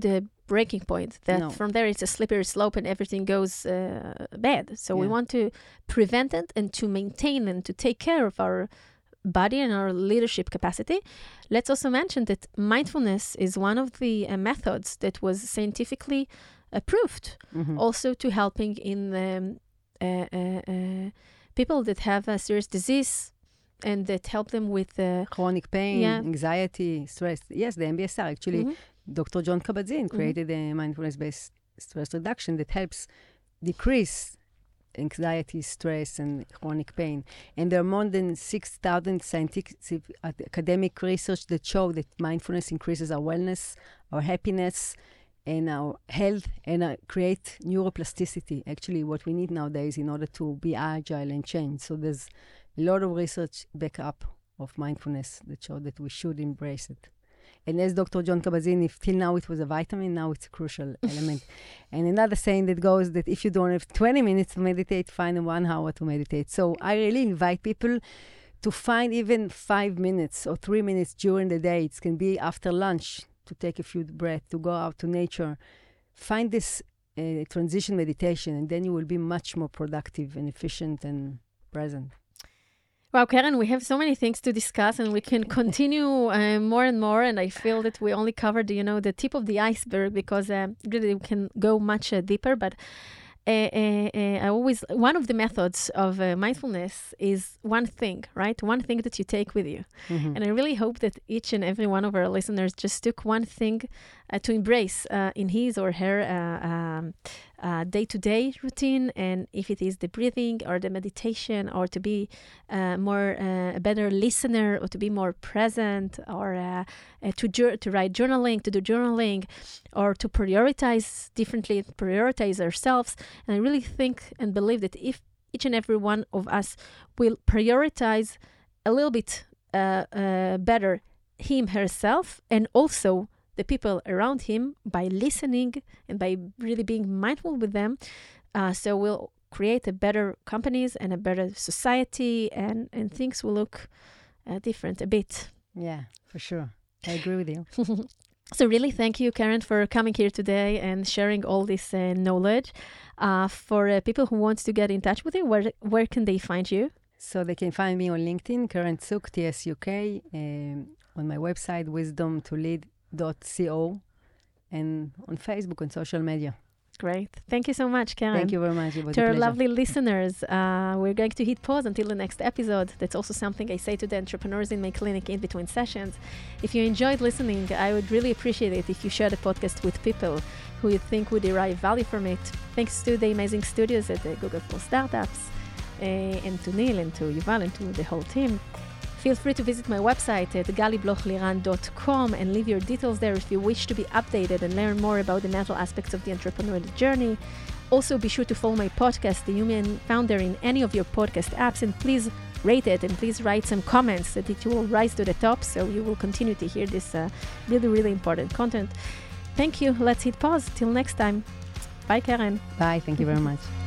breaking point, that No. from there it's a slippery slope and everything goes uh, bad. So we Yeah. want to prevent it and to maintain and to take care of our body and our leadership capacity. Let's also mention that mindfulness is one of the uh, methods that was scientifically approved, Mhm. also to helping in um, uh, uh, uh, people that have a serious disease and that help them with uh, Chronic pain, Yeah. anxiety, stress. Yes, the M B S R. Actually, mhm. Doctor John Kabat-Zinn created a mindfulness-based stress reduction that helps decrease anxiety, stress, and chronic pain. And there are more than six thousand scientific academic research that show that mindfulness increases our wellness, our happiness, and our health, and uh, create neuroplasticity. Actually, what we need nowadays in order to be agile and change. So there's a lot of research back up of mindfulness that show that we should embrace it. And as Doctor John Kabat-Zinn, if till now it was a vitamin, now it's a crucial element. And another saying that goes that if you don't have twenty minutes to meditate, find one hour to meditate. So I really invite people to find even five minutes or three minutes during the day. It can be after lunch to take a few breaths, to go out to nature. Find this uh, transition meditation, and then you will be much more productive and efficient and present. Wow, Keren, we have so many things to discuss and we can continue uh, more and more. And I feel that we only covered, you know, the tip of the iceberg because uh, really we can go much uh, deeper. But uh, uh, uh, I always, one of the methods of uh, mindfulness is one thing, right? One thing that you take with you. Mhm. And I really hope that each and every one of our listeners just took one thing uh, to embrace uh, in his or her uh, um, uh, day-to-day routine. And if it is the breathing or the meditation, or to be uh, more uh, a better listener, or to be more present, or uh, uh, to jur- to write journaling, to do journaling, or to prioritize differently, prioritize ourselves. And I really think and believe that if each and every one of us will prioritize a little bit uh, uh, better him, herself, and also the people around him by listening and by really being mindful with them, uh, so we'll create a better companies and a better society, and, and things will look uh, different a bit. Yeah, for sure. I agree with you. So really, thank you, Keren, for coming here today and sharing all this uh, knowledge. Uh, for uh, people who want to get in touch with you, where where can they find you? So they can find me on LinkedIn, Keren Tsuk, T S U K, um, on my website, wisdom to lead dot co, and on Facebook and social media. Great. Thank you so much, Keren. Thank you very much. It was To a our pleasure. lovely listeners, uh, we're going to hit pause until the next episode. That's also something I say to the entrepreneurs in my clinic in between sessions. If you enjoyed listening, I would really appreciate it if you share the podcast with people who you think would derive value from it. Thanks to the amazing studios at the Google for Startups, uh, and to Neil and to Yuval and to the whole team. Feel free to visit my website at gali bloch liran dot com and leave your details there if you wish to be updated and learn more about the mental aspects of the entrepreneurial journey. Also, be sure to follow my podcast, The Human Founder, in any of your podcast apps, and please rate it and please write some comments so that it will rise to the top so you will continue to hear this uh, really, really important content. Thank you. Let's hit pause. Till next time. Bye, Keren. Bye. Thank you very much.